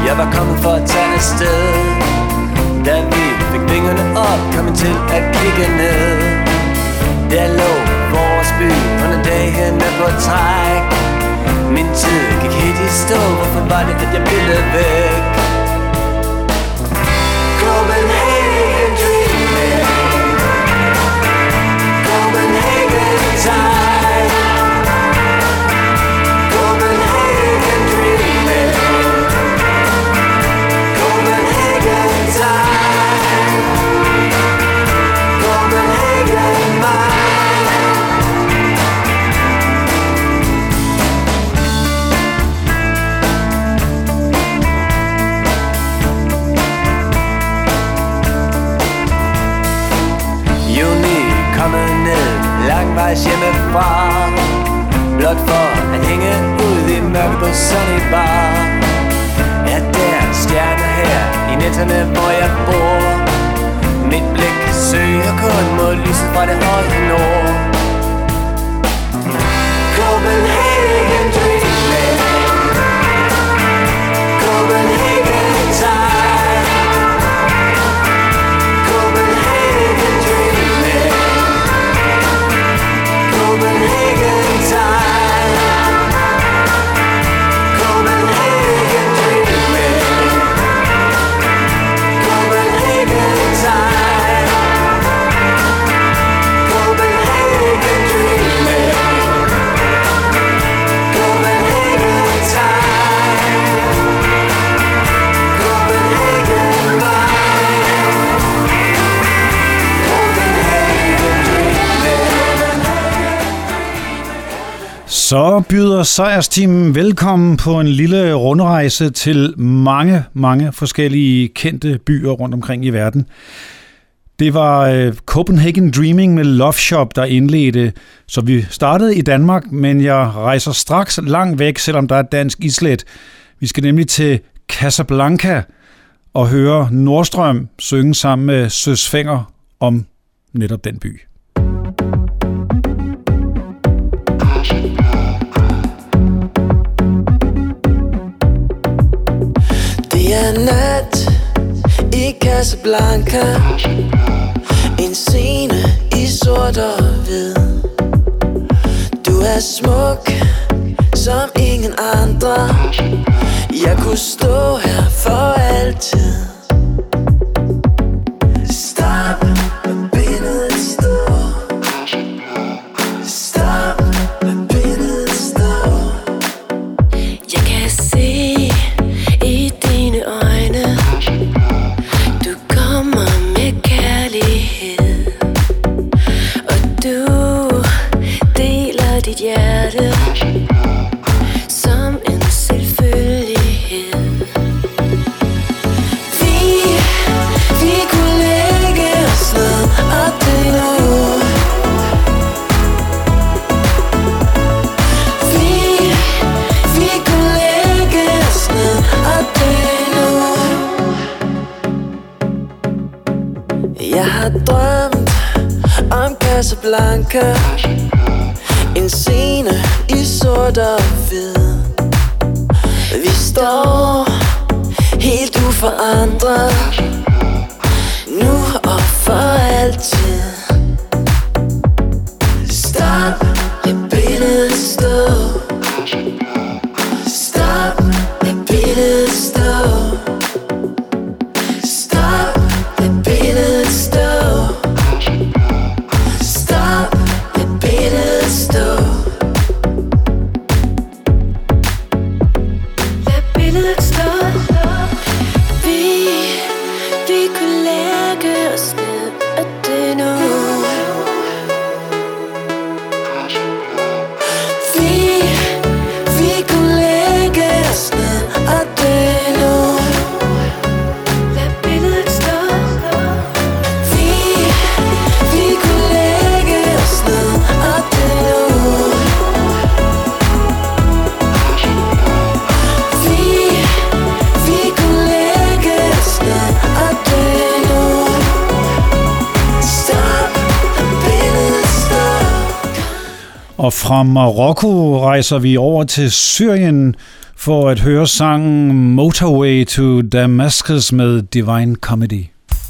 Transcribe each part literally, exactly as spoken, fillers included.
Jeg var kommet for at tage afsted. Da vi fik vingerne op, kom jeg til at kigge ned. Der lå vores by under dagene på træk. Min tid gik helt i stå. Hvorfor var det, at jeg ville væk? Copenhagen dreaming, Copenhagen time, Copenhagen dreaming, Copenhagen time, Copenhagen mind. Juni kommet ned langvejs hjemmefra, blot for at hænge ud i mørke på Sunny Bar. Er der stjerner her i nætterne, hvor jeg bor? Mit blik søger kun mod lyset fra det høje nord. Copenhagen dreaming, Copenhagen time, Copenhagen dreaming, Copenhagen time, Copenhagen dreaming, Copenhagen time, Copenhagen dreaming, Copenhagen time, Copenhagen mind, Copenhagen dreaming. Så byder sejrsteamen velkommen på en lille rundrejse til mange, mange forskellige kendte byer rundt omkring i verden. Det var øh, Copenhagen Dreaming med Love Shop, der indledte, så vi startede i Danmark, men jeg rejser straks langt væk, selvom der er dansk islet. Vi skal nemlig til Casablanca og høre Nordstrøm synge sammen med Søs Fenger om netop den by. Det er nat i Casablanca, en scene i sort og hvid. Du er smuk som ingen andre. Jeg kunne stå her for altid. Stop, billedet står. Stop, billedet står. Jeg kan se i dine øjne, du kommer med kærlighed, og du deler dit hjerte som en selvfølgelighed. Vi, vi kunne lægge os ned og dø nu. Vi, vi kunne lægge os ned og dø nu. Jeg har drømt om Casablanca, en scene i sort og hvid. Vi står helt uforandret, nu og for altid. Stop, lad billedet stå. Stop, lad billedet stå. Stop, lad billedet stå. Stop, lad billedet stå. Lad billedet stå. Vi, vi kunne lægge os ned og dø nu. Vi, Og fra Marokko rejser vi over til Syrien for at høre sangen Motorway to Damascus med Divine Comedy.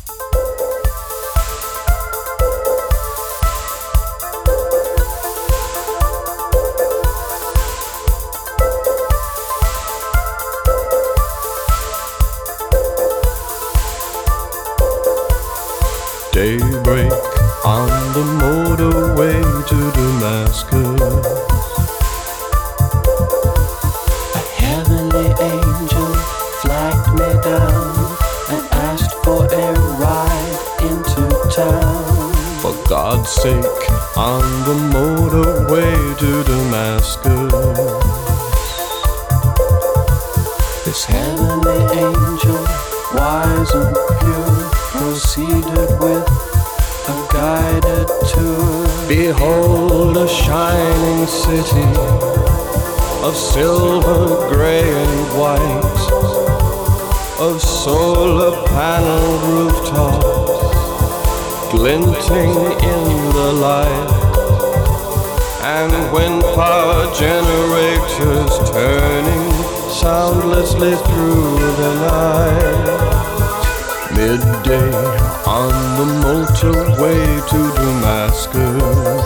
Daybreak on the motorway to Damascus. A heavenly angel flagged me down and asked for a ride into town. For God's sake, on the motorway to Damascus. This heavenly angel, wise and pure, proceeded with a guided tour. Behold a shining city of silver, grey and white, of solar paneled rooftops glinting in the light, and wind power generators turning soundlessly through the night. Midday on the motorway to Damascus.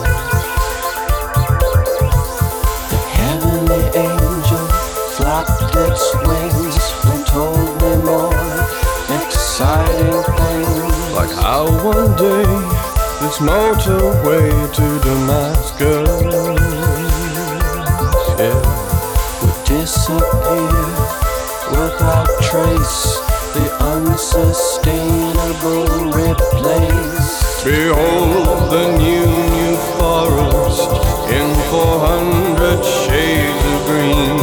The heavenly angel flapped its wings and told me more exciting things. Like how one day this motorway to Damascus, yeah, would disappear without trace, the unsustainable replace. behold the new, new forest in four hundred shades of green,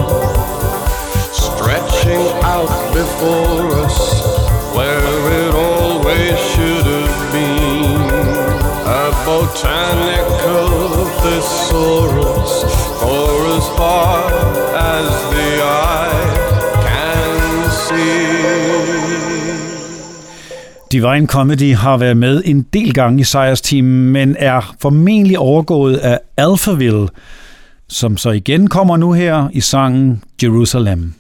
stretching out before us where it always should have been. A botanical thesaurus for as far as the eye can see. Divine Comedy har været med en del gange i sejrsteamen, men er formentlig overgået af Alphaville, som så igen kommer nu her i sangen Jerusalem.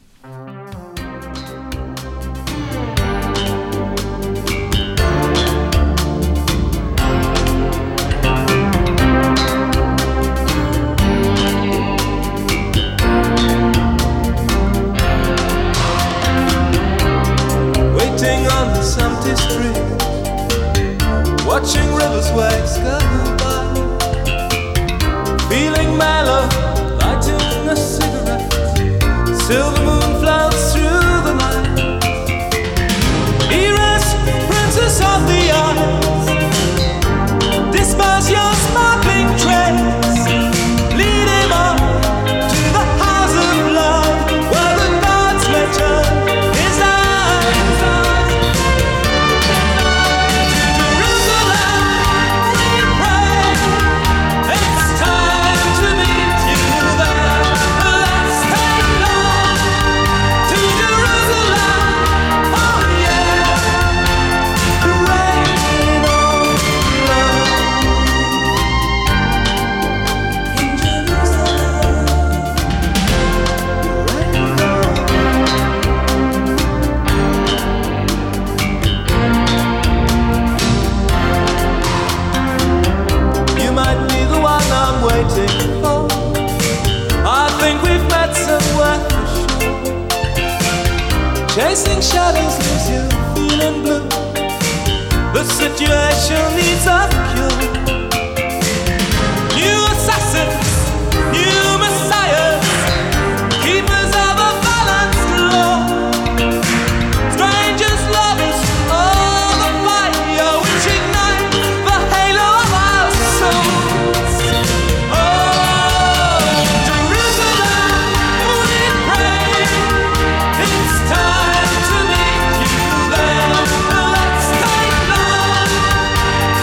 Watching rivers waves go by, feeling mellow, lighting a cigarette. Silver moon floats through the night. Erase, princess of the eyes, disperse your sparkling trace. Lead him on to the house of love, where the gods may turn his eyes. Chasing shadows leaves you feeling blue. The situation needs a cure. New assassins, new messiahs, keepers of a balanced law. Strangers, lovers, all the fire which ignites the halo of our souls. Oh, Jerusalem, we pray, it's time to meet you there. Let's take love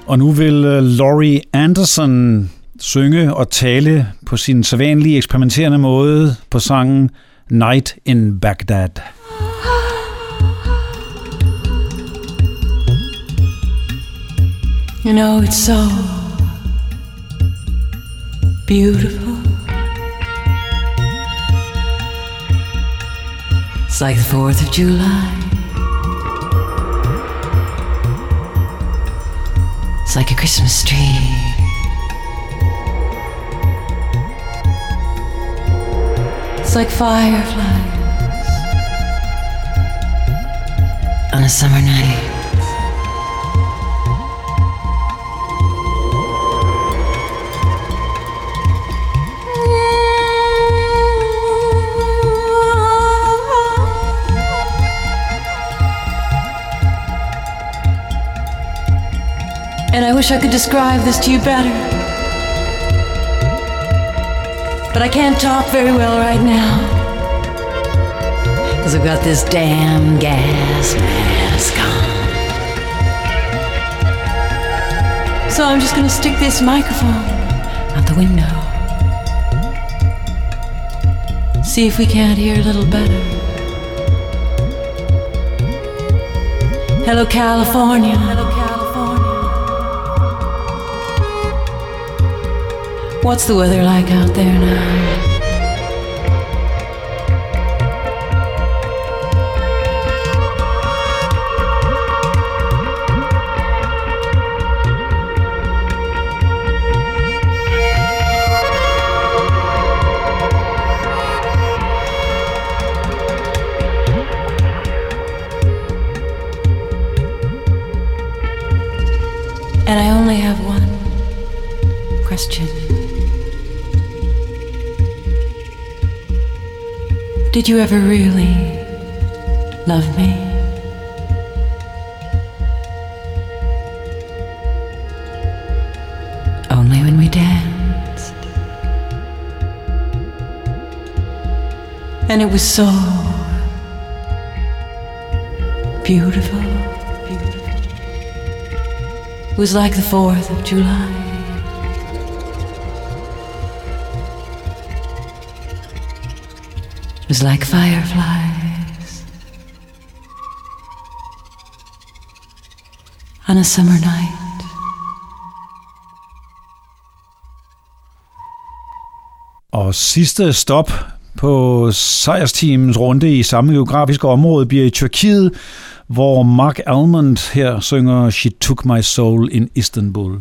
Og nu vil Laurie Anderson synge og tale på sin sædvanlige eksperimenterende måde på sangen Night in Baghdad. You know, it's so beautiful. It's like the fourth of July. It's like a Christmas tree. It's like fireflies on a summer night. And I wish I could describe this to you better, but I can't talk very well right now, because I've got this damn gas mask on. So I'm just gonna stick this microphone out the window, see if we can't hear a little better. Hello, California. Hello, California. What's the weather like out there now? And I only have one question. Did you ever really love me? Only when we danced. And it was so beautiful. Beautiful. It was like the fourth of July. It was like fireflies on a summer night. Og sidste stop på sejrsteamens runde i samme geografiske område bliver i Tyrkiet, hvor Mark Almond her synger She Took My Soul in Istanbul.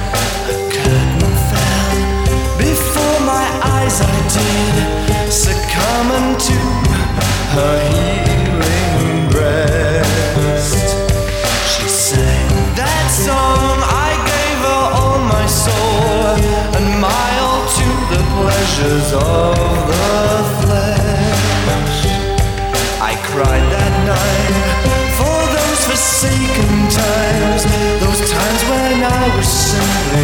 As I did, come unto her healing breast. She sang that song, I gave her all my soul, and my all to the pleasures of the flesh. I cried that night for those forsaken times, those times when I was simply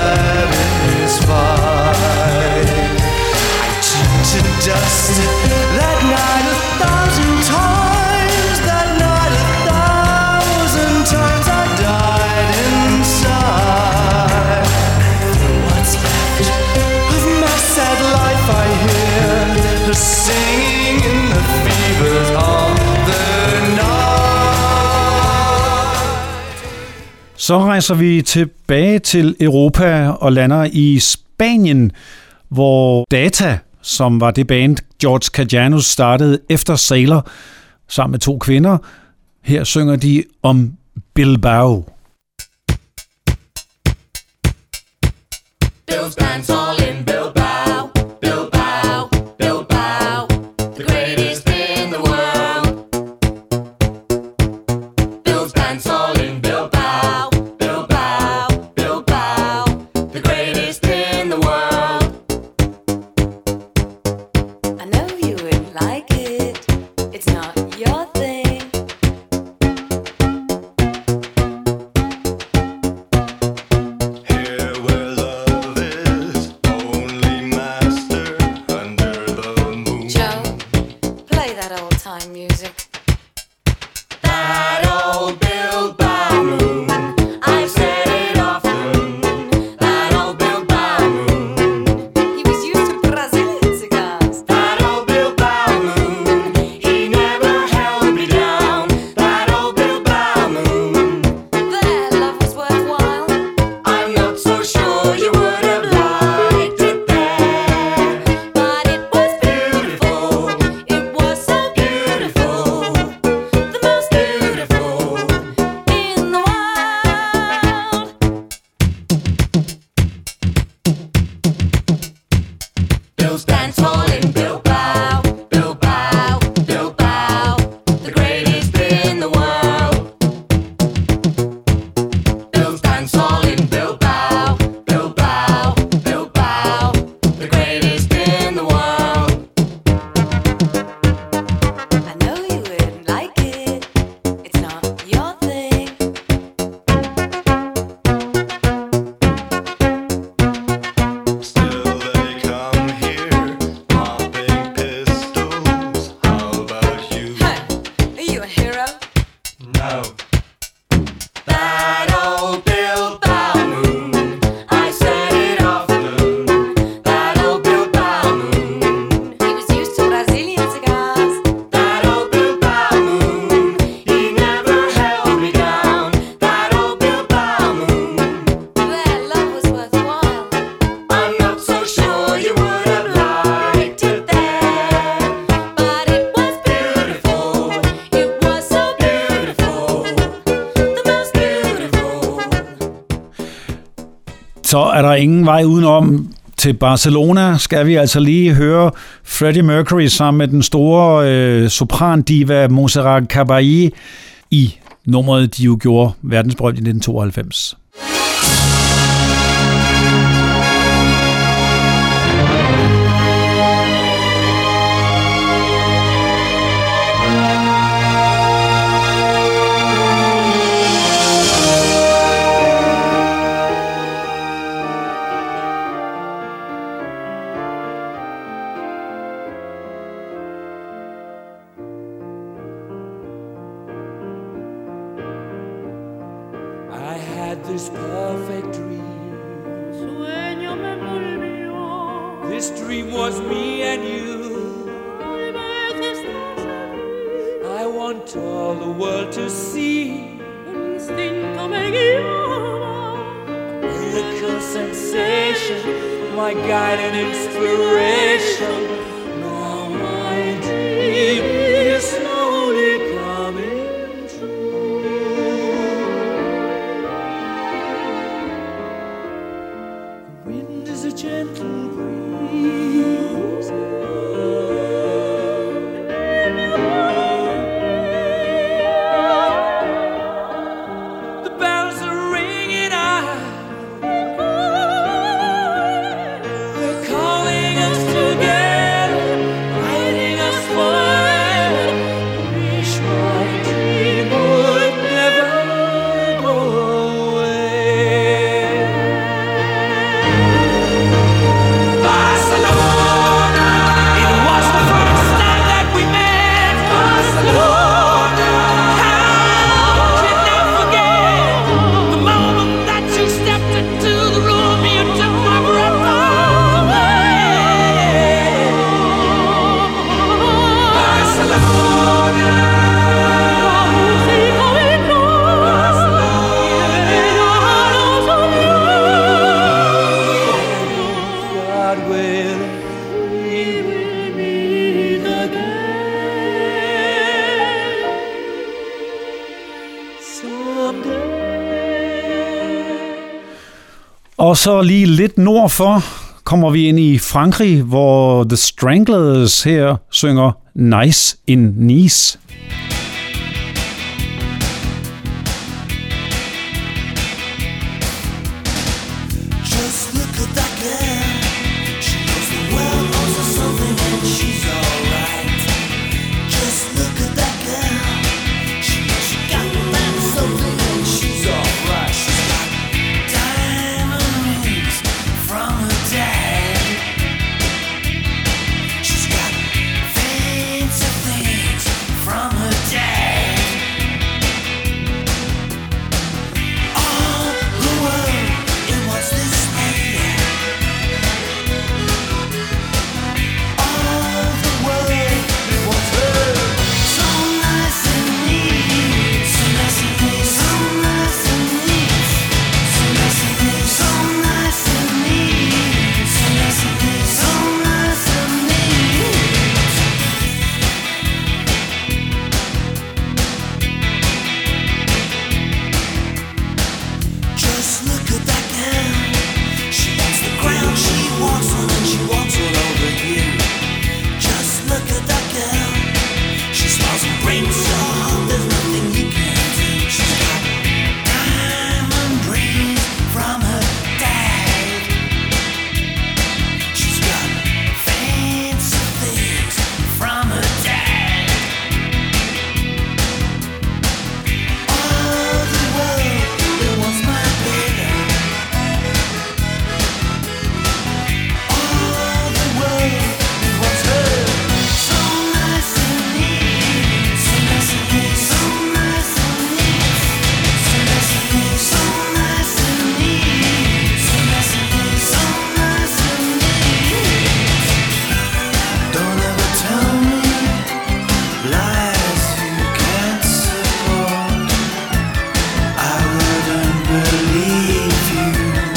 satisfied. I turned to dust that night a thousand times, that night a thousand times I died inside. For what's left of my sad life I hear the singing in the fevers of the night. Så rejser vi tilbage til Europa og lander i Spanien, hvor Data, som var det band, George Kajanus startede efter Sailor, sammen med to kvinder. Her synger de om Bilbao. Bill's dance all in Bilbao, Bilbao, Bilbao, the greatest in the world. Bill's dance all in Bilbao, Bilbao, Bilbao, the greatest in the world. I know you would like it, it's not your thing. Here where love is only master under the moon. Joe, play that old time music. That old Bilbao moon, I've said it often. That old Bilbao moon, he was used to Brazilian cigars. That old Bilbao moon, he never held me down. That old Bilbao moon, their love was worthwhile. I'm not so sure you would have liked it there, but it was beautiful. It was so beautiful, the most beautiful in the world. Bill's dance hall in Bilbao, Bilbao, Bilbao, the greatest in the world. Bill's dance hall in Bilbao, Bilbao, Bilbao, the greatest in the world. I know you wouldn't like it, it's not your thing. Still they come here, popping pistols. How about you? Hey, are you a hero? No. That old Bilbao moon, I said it often. That old Bilbao moon, he was used to Brazilian cigars. That old Bilbao moon, he never held me down. That old Bilbao moon, their love was worthwhile. I'm not so sure you would have liked it there, but it was beautiful. It was so beautiful, the most beautiful. Så er der ingen vej udenom. Til Barcelona skal vi altså lige høre Freddie Mercury sammen med den store øh, soprandiva Montserrat Caballé i nummeret, de jo gjorde verdensberømt i nitten tooghalvfems. I had this perfect dream. This dream was me and you. I want all the world to see. Miracle sensation, my guide and inspiration. Now my dream is slowly coming true. The wind is a gentle breeze. Og så lige lidt nord for kommer vi ind i Frankrig, hvor The Stranglers her synger Nice in Nice. Just look at that girl. She knows the world owes her something and she's alright. Just look at that girl. She knows she got that something and she's alright. She's got diamond rings from her dad. She's got fancy things from her dad. All the world, it wants this lady. All the world, it wants her. So nice and neat, so nice and neat, so nice and neat, so nice and neat, so nice and neat, so nice and neat, so nice and neat. Just look at that girl. She owns the ground she walks on and she walks all over you. Just look at that girl. She smiles and brings your heart. There's nothing you can do. She's got diamond rings from her dad. She's got fancy things from her dad. All the world, it wants my baby. All the world, it wants her. So nice and neat, so nice and neat, so nice and neat, so nice and neat, so nice and neat, so nice and neat, so nice and neat. Don't ever tell me lies you can't support. I wouldn't believe you.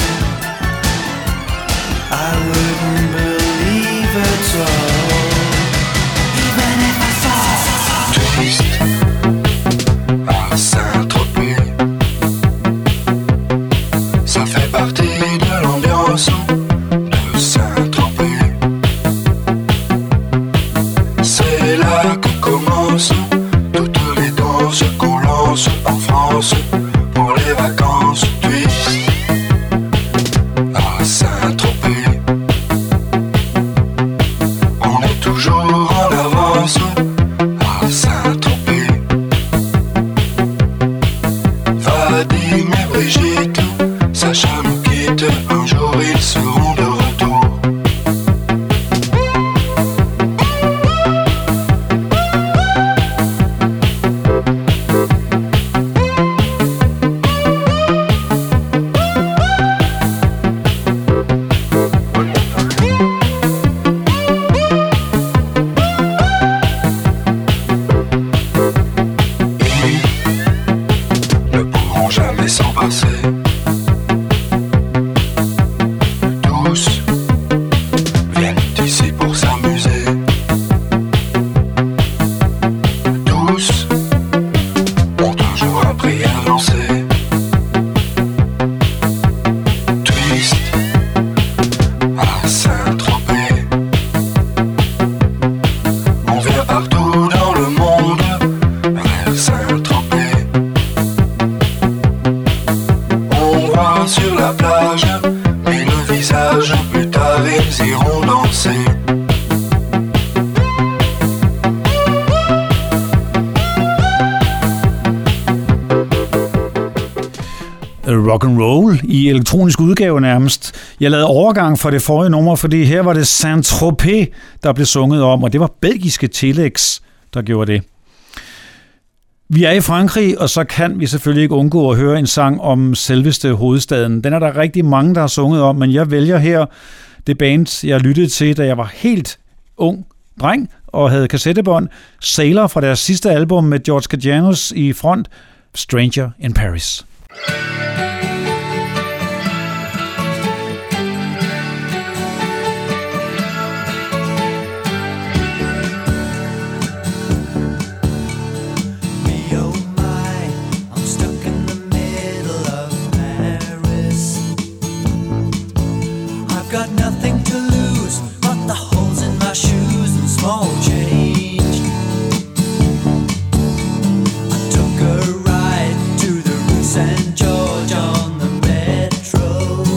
I wouldn't believe it all. Even if I saw. Triste à Saint-Tropez, ça fait partie de l'ambiance de Saint-Tropez. C'est là que commencent toutes les danses qu'on lance en France pour les vacances. Triste à Saint-Tropez, on est toujours en avance à Saint-Tropez. Vadim et Brigitte, Sacha nous quitte, un jour ils seront de retour. Ils ne pourront jamais s'en passer. Tous viennent ici pour s'amuser. Tous ont toujours un prix à lancer. Twist à Saint-Tropez. On vient partout dans le monde vers Saint-Tropez. On voit sur la plage mille visages, plus tard ils iront danser. Rock and roll i elektronisk udgave nærmest. Jeg lavede overgang fra det forrige nummer, fordi her var det Saint-Tropez, der blev sunget om, og det var belgiske Telex, der gjorde det. Vi er i Frankrig, og så kan vi selvfølgelig ikke undgå at høre en sang om selveste hovedstaden. Den er der rigtig mange, der har sunget om, men jeg vælger her det band, jeg lyttede til, da jeg var helt ung dreng og havde kassettebånd. Sailor fra deres sidste album med George Kajanos i front, Stranger in Paris. Me, oh my, I'm stuck in the middle of Paris. got nothing to lose but the holes in my shoes and small change. I took a ride to the Rue Saint George on the metro,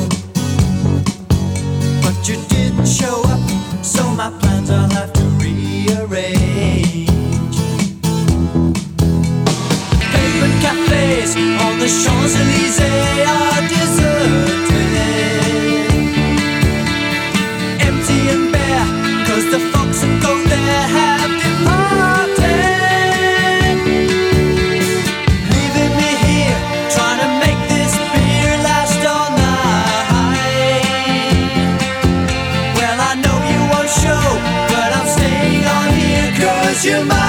but you didn't show up, so my plans I'll have to rearrange. Pavement cafes on the Champs-Élysées are deserted, empty and bare, cause the folks that go there have departed, leaving me here trying to make this beer last all night. Well, I know you won't show, but I'm staying on here cause you might.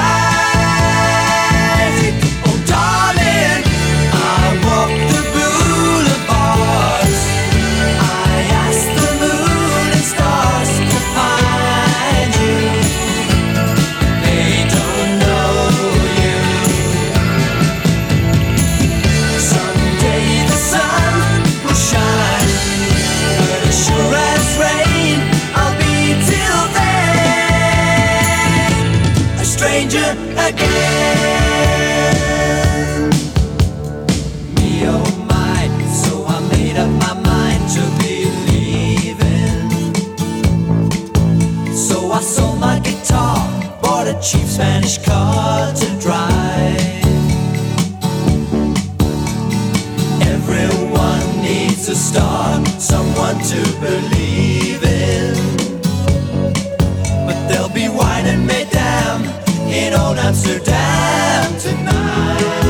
Oh darling, I walk the boulevards, I ask the moon and stars to find you. They don't know you. Someday the sun will shine, but as sure as rain, I'll be till then a stranger again. Me oh my, so I made up my mind to be leaving. So I sold my guitar, bought a cheap Spanish car to drive. Everyone needs a star, someone to believe in. But there'll be wine and mesdames in old Amsterdam tonight.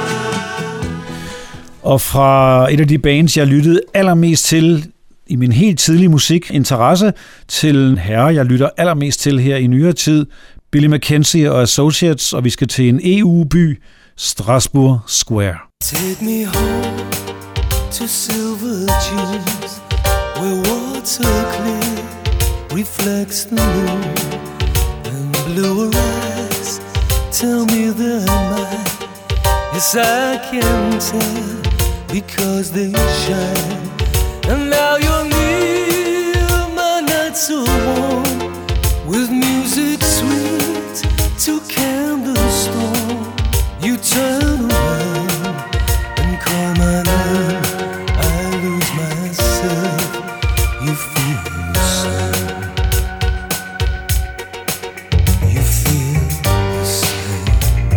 Og fra et af de bands, jeg lyttede allermest til i min helt tidlige musikinteresse, til en herre, jeg lytter allermest til her i nyere tid, Billy Mackenzie og Associates, og vi skal til en E U-by, Strasbourg Square. Take me home to silver dunes, where water clear reflects the moon, and blue eyes tell me they're mine. Yes, I can tell because they shine. And now you're near, my nights so warm, with music sweet to candles storm. You turn around and call my name, I lose myself, you feel the same. You feel the same.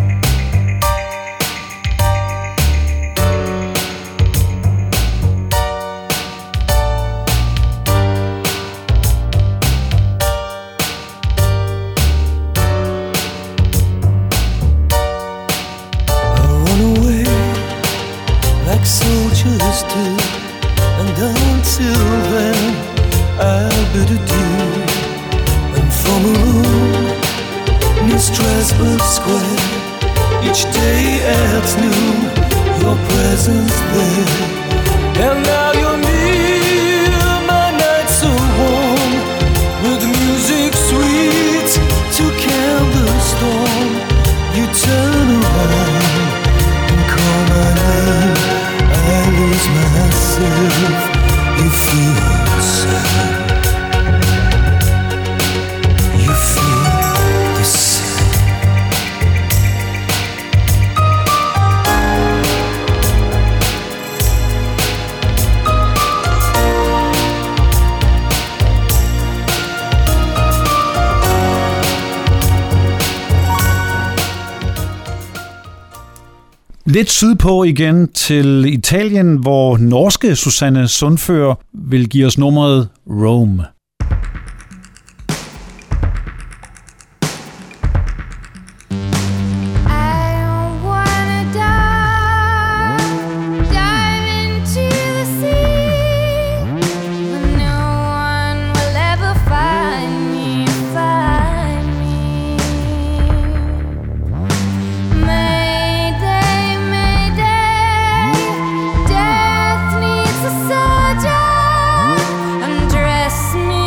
Soldiers do, and until then I'll bid adieu. And from a room near Strasbourg Square, each day adds new, your presence there. And now you're near, my nights so warm, with music sweet to candle storm. You turn around and call my name, I lose myself, you feel the same. You feel the same. Lidt sydpå igen til Italien, hvor norske Susanne Sundfør vil give os nummeret Rome. Undress me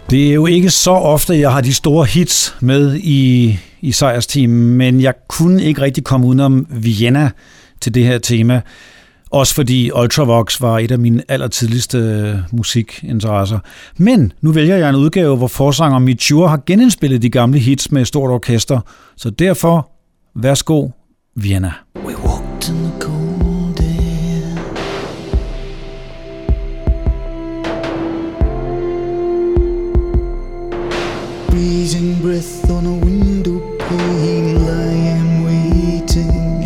Det er jo ikke så ofte, jeg har de store hits med i, i sejrsteamen, men jeg kunne ikke rigtig komme udenom Vienna til det her tema. Også fordi Ultravox var et af mine allertidligste musikinteresser. Men nu vælger jeg en udgave, hvor forsanger Miture har genindspillet de gamle hits med et stort orkester. Så derfor, værsgo, Vienna. We walked in the cold air. Breezing breath on a window pane, lying waiting.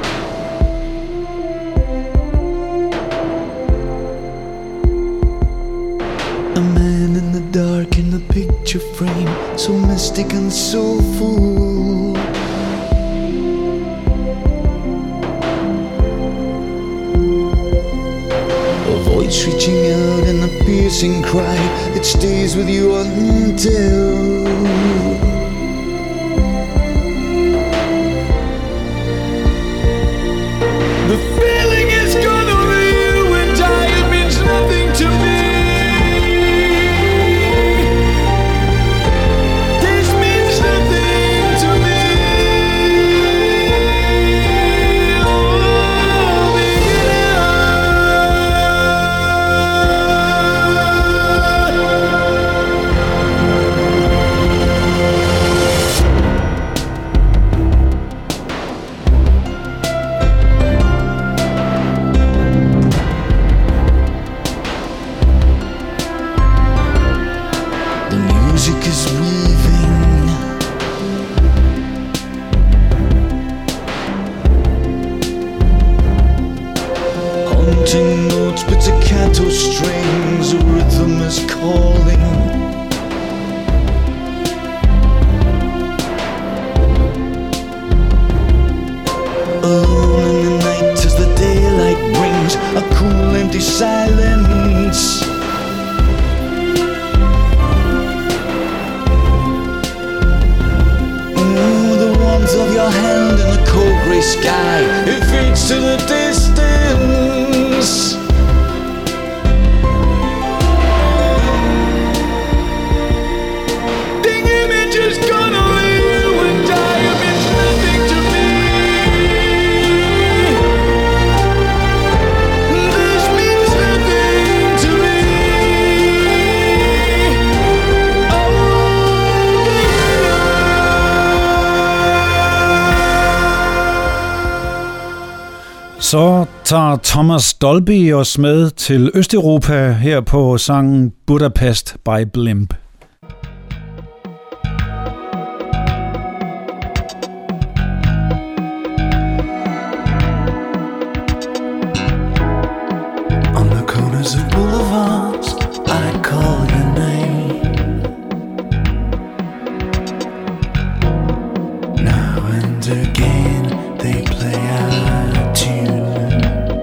A man in the dark in the picture frame, so mystic and soulful. A voice reaching out in a piercing cry that stays with you until the feeling is gone over you and I. It means nothing to me. This means nothing to me. Oh, the music is weaving. Haunting notes, pizzicato strings, a rhythm is calling. Alone in the night as the daylight brings a cool empty silence. Oh, the warmth of your hand in the cold grey sky, it fades to the distance. The image is gone over you and I. It means nothing to me. This means nothing to me. Så tager Thomas Dolby os med til Østeuropa her på sangen Budapest by Blimp. On the corners of boulevards, I call your name. Now and again, they play our tune.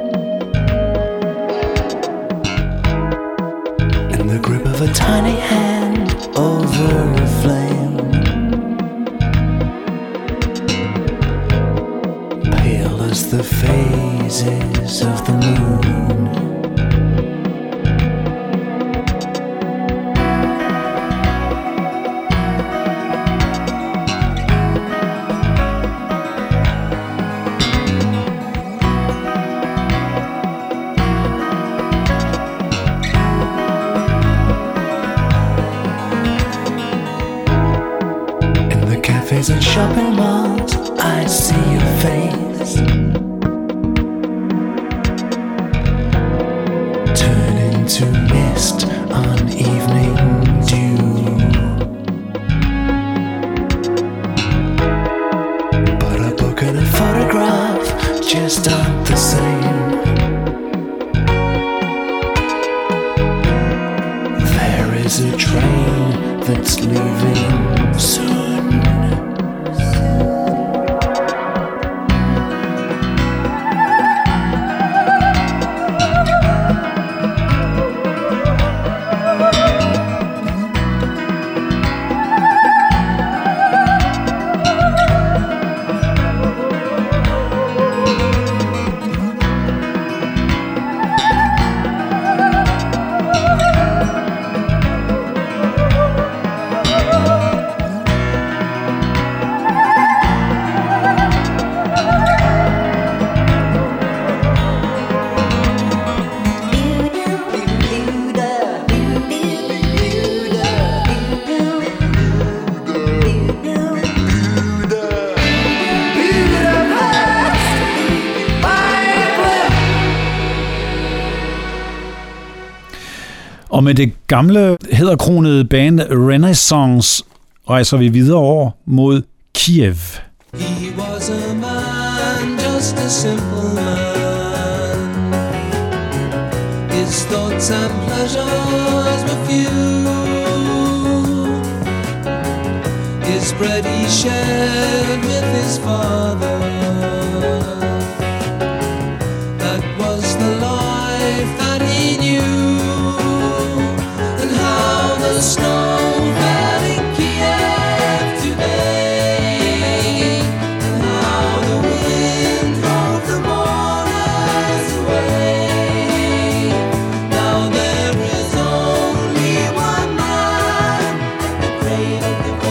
In the grip of a tiny hand over a flame. Pale as the phases of the moon. In the cafes and shopping malls, I see your face. Turn into mist on evening dew. But a book and a photograph just aren't the same. There is a train that's leaving soon. Og med det gamle, hæderkronede band Renaissance rejser vi videre over mod Kiev. He was a man, just a simple man. His thoughts and pleasures were few. His bread he shared with his father. That was the life that he knew. And how the snow fell in Kiev today. And how the wind drove the mourners away. Now there is only one man at the grave of the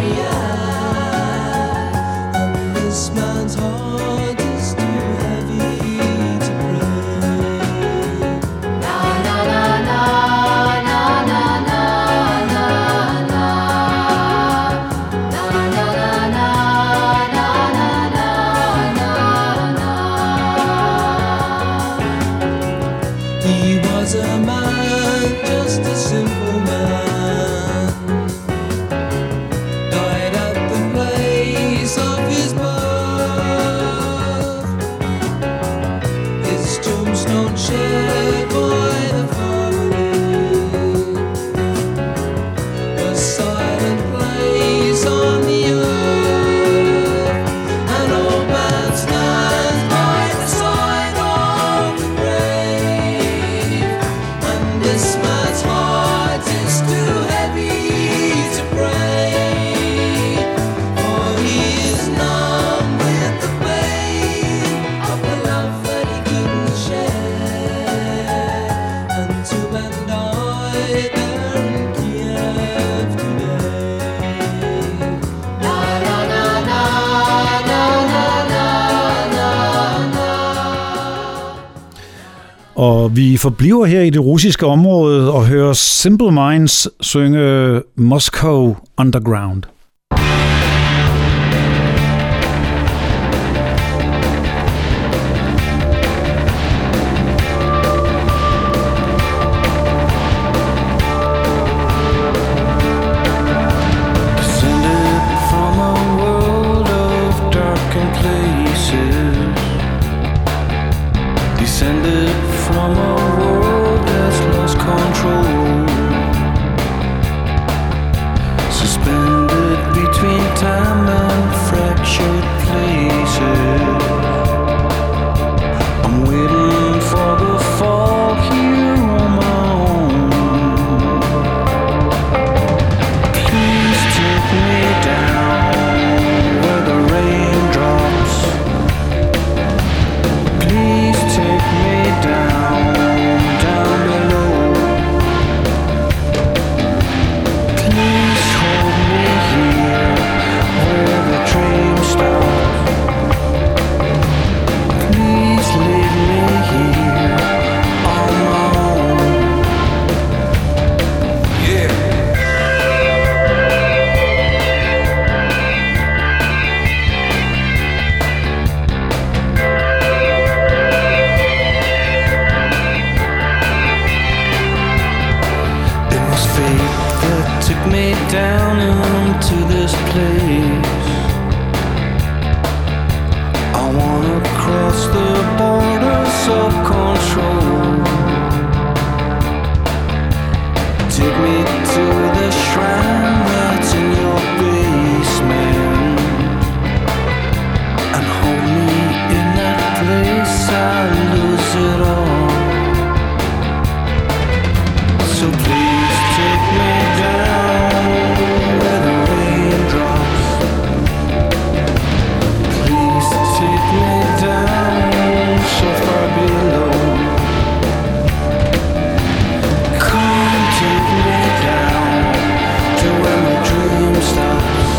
Boreal. And this man's heart is too heavy to pray. Na na na na na na na na na. Na na na na na na na na. He was a man, just a simple man. Died at the place of his birth. His tombstone shared by the family. A silent place on the earth. An old man stands by the side of the grave. And this man's heart is too heavy to pray. For he is numb with the pain of the love that he couldn't share. And two men died there in Kiev today. Na na na na na na na na na. Og vi forbliver her i det russiske område og hører Simple Minds synge Moscow Underground. Descended from a world of darkened places. Descended from a world that's lost control. Suspended between time and fractured places. I'm waiting for the fall here on my own. Please take me down where the rain drops. Please take me down, down below. Please hold me here where the train stops. Please leave me here on my own. Yeah. It was fate that took me down into this place. I wanna cross the borders of control. Take me to the shrine that's in your basement. And hold me in that place, I lose it all. So please take me down where the rain drops. Please take me down so far below. Come take me down to where my dream stops.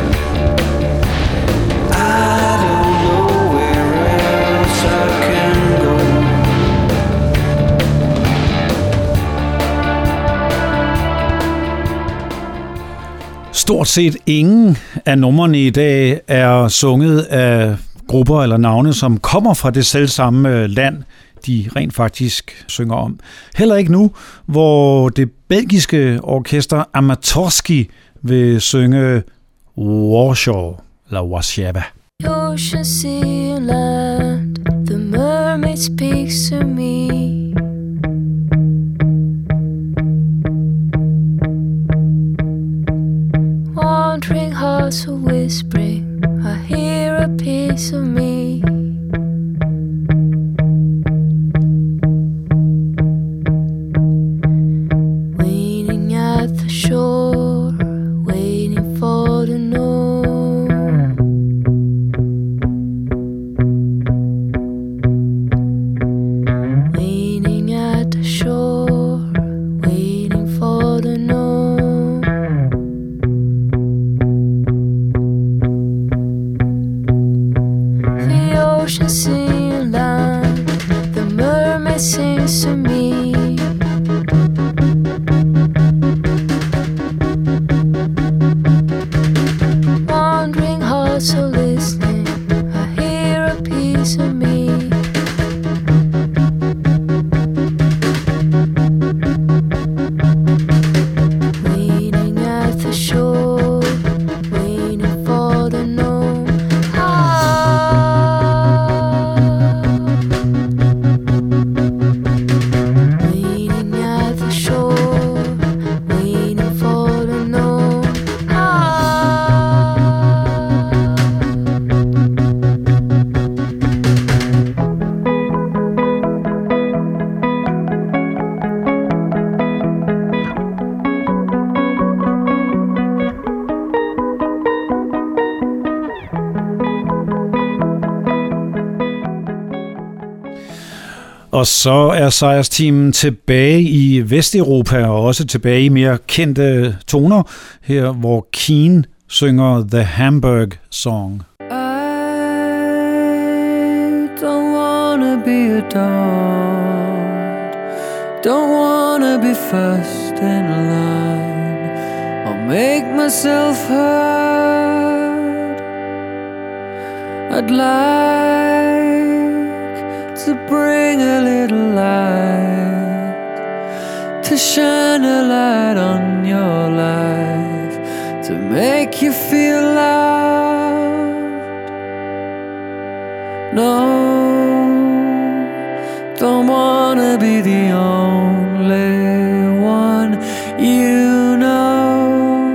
I don't know where else I can go. Stort set ingen af numrene i dag er sunget af grupper eller navne, som kommer fra det selvsamme land. de rent faktisk synger om. Heller ikke nu, hvor det belgiske orkester Amatorski vil synge Warshaw eller Warszawa. Ocean, sea and land, the mermaid speaks to me. Wandering hearts are whispering, I hear a piece of me. Waiting at the shore, waiting for the north. Waiting at the shore, waiting for the north. The ocean, sea and land, the mermaid sings to me. Wandering hearts are listening, I hear a piece of me. Waiting at the shore, waiting for the no. Ah. Waiting at the shore, waiting for the no. Ah. Og så er sejrsteamen tilbage i Vesteuropa og også tilbage i mere kendte toner, her hvor Keane synger The Hamburg Song. I don't wanna be adored, don't wanna be first in line, I'll make myself heard. I'd like to bring a little light, to shine a light on your life, to make you feel loved. No, don't wanna be the only one you know.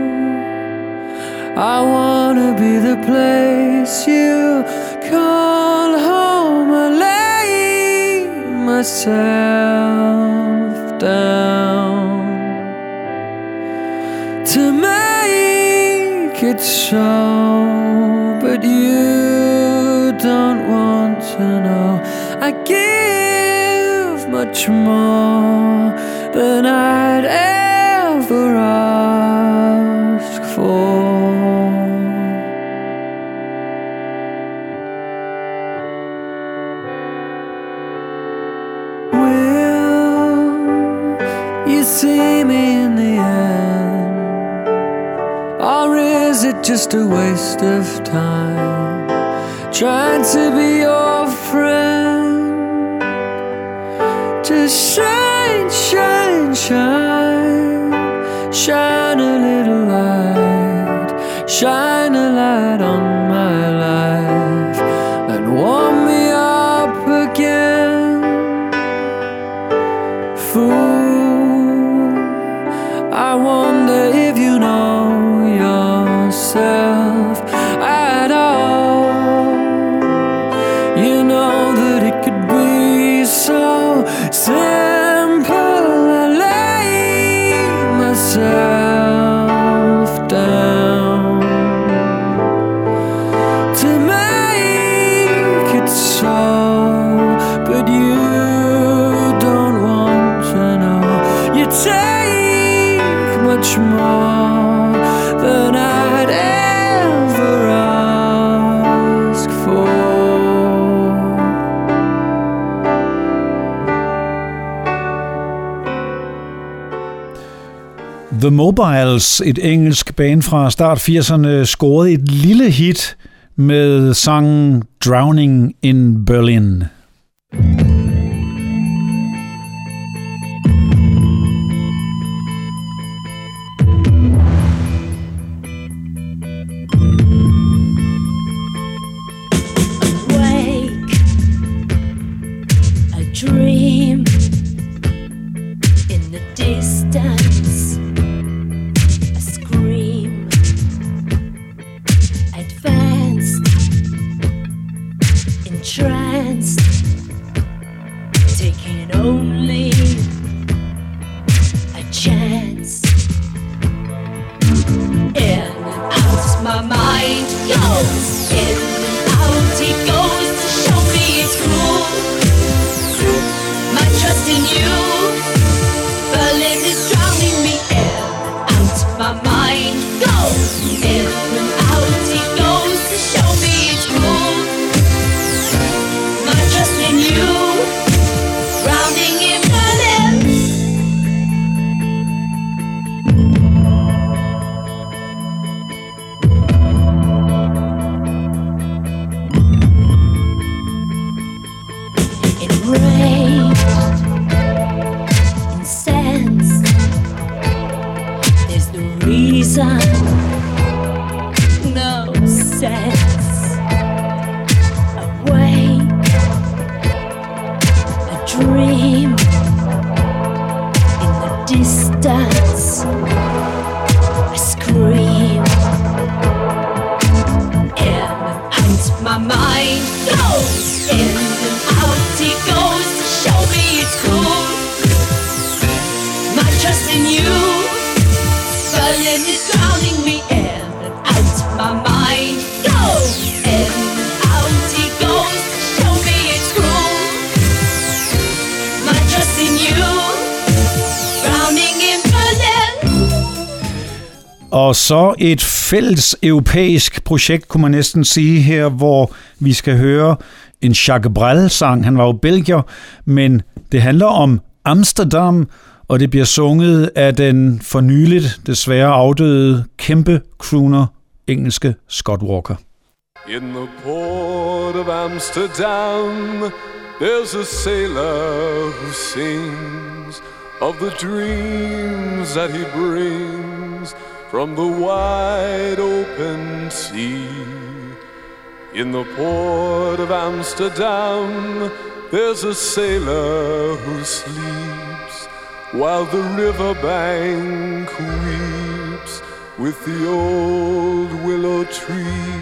I wanna be the place you call home. I lay myself down to make it so, but you don't want to know. I give much more than I'd ever ask for. See me in the end, or is it just a waste of time trying to be your friend? Just shine, shine, shine, shine a little light, shine a light on my life and warm me up again. Fool, I wonder if you know yourself at all. You know that it could be so simple. I lay myself down to make it so, but you don't want to know. You take much more than I'd ever ask for. The Mobiles, et engelsk band fra start firserne, scorede et lille hit med sangen Drowning in Berlin. sun. No sense. Awake. A dream. In the distance. I scream. In and out my mind goes. In and out he goes to show me it's cool. My trust in you. Berlin is drowning me in and out my mind goes. In and out he goes to show me it's cool. My trust in you. Drowning in Berlin. Og så et fælles europæisk projekt, kunne man næsten sige her, hvor vi skal høre en Jacques Brel-sang. Han var jo belgier, men det handler om Amsterdam, og det bliver sunget af den for nyligt desværre afdøde kæmpe crooner, engelske Scott Walker. In the port of Amsterdam, there's a sailor who sings of the dreams that he brings from the wide open sea. In the port of Amsterdam, there's a sailor who sleeps while the riverbank weeps with the old willow tree.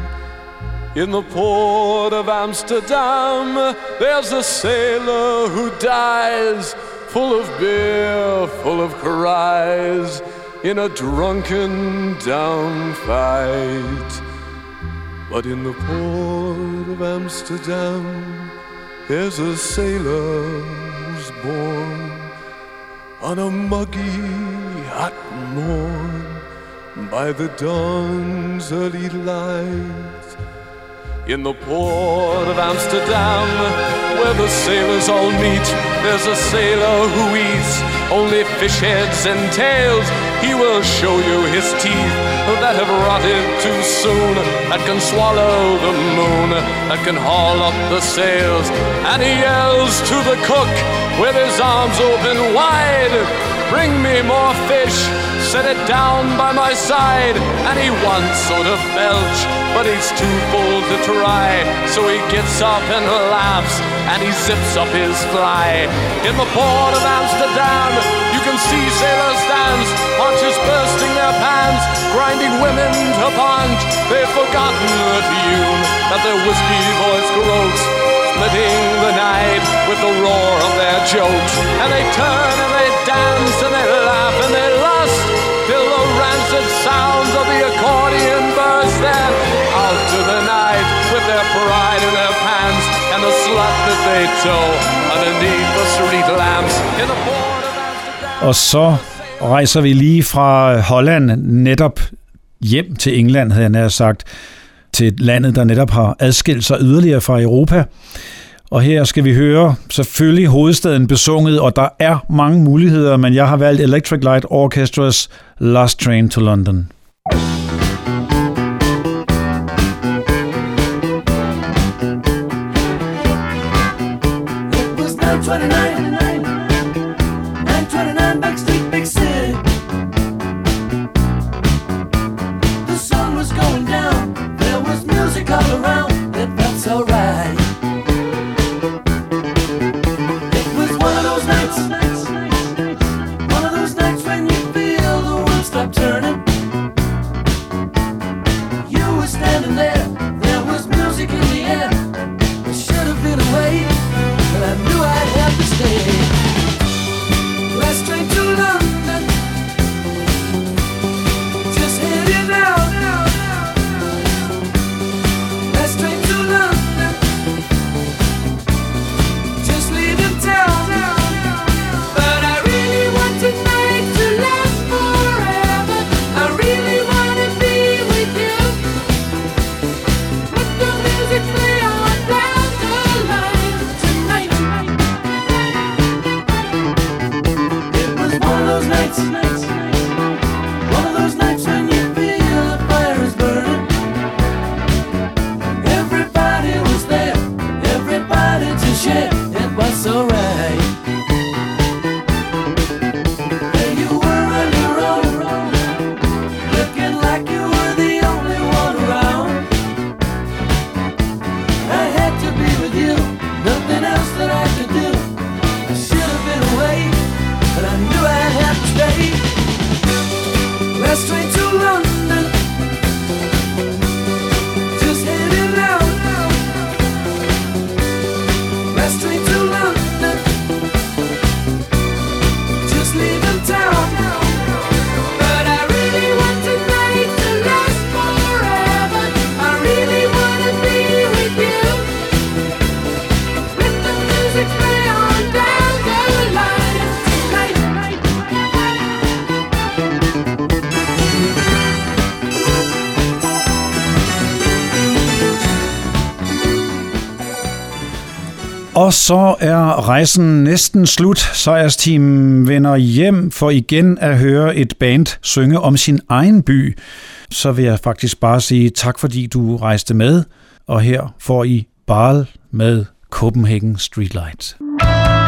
In the port of Amsterdam, there's a sailor who dies, full of beer, full of cries, in a drunken down fight. But in the port of Amsterdam, there's a sailor who's born on a muggy hot morn by the dawn's early light. In the port of Amsterdam, where the sailors all meet, there's a sailor who eats only fish heads and tails. He will show you his teeth that have rotted too soon, that can swallow the moon, that can haul up the sails. And he yells to the cook with his arms open wide, bring me more fish, set it down by my side. And he wants so to belch, but he's too full to try. So he gets up and laughs, and he zips up his fly. In the port of Amsterdam, you can see sailors dance, haunches bursting their pants, grinding women to punch. They've forgotten the tune that their whiskey voice croaks, splitting the night with the roar of their jokes. And they turn and they dance and they laugh and they lust, till the rancid sounds of the accordion burst them out to the night with their pride in their pants and the slut that they tow underneath the street lamps in the port of Amsterdam. Og så rejser vi lige fra Holland netop hjem til England, havde jeg nær sagt, til landet, der netop har adskilt sig yderligere fra Europa. Og her skal vi høre selvfølgelig hovedstaden besunget, og der er mange muligheder, men jeg har valgt Electric Light Orchestra's Last Train to London. It was nine twenty-nine, nine twenty-nine Backstreet Big City. The sun was going down, there was music all around, it felt so right. It was one of those nights, one of those nights when you feel the world stop turning. You were standing there, there was music in the air. It should have been away, but I knew I'd have to stay. Last train to London, just heading out. Last train Og så er rejsen næsten slut. Sejrsteam vender hjem for igen at høre et band synge om sin egen by. Så vil jeg faktisk bare sige tak, fordi du rejste med. Og her får I Baal med Copenhagen Streetlights.